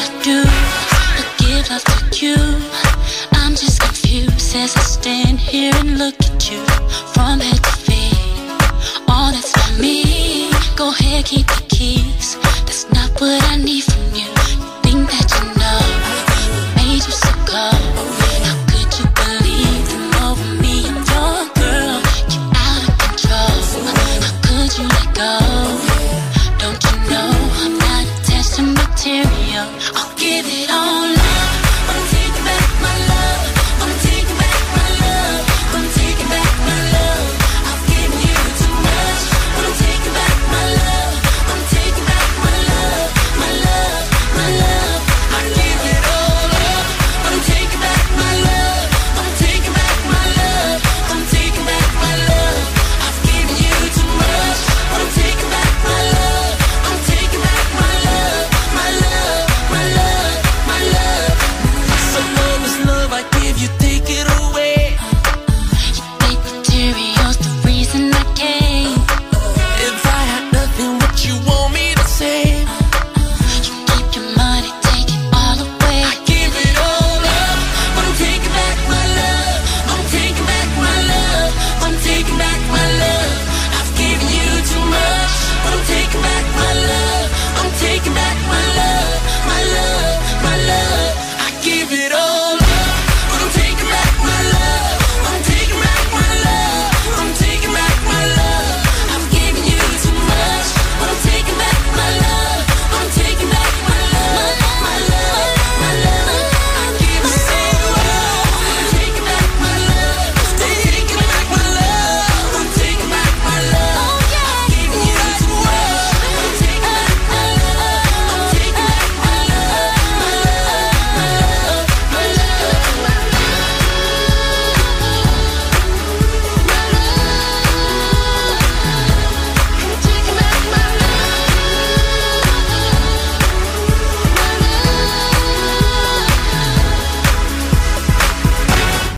I do but give love to you? I'm just confused as I stand here and look at you from head to feet. Oh, that's not me. Go ahead, keep the keys. That's not what I need from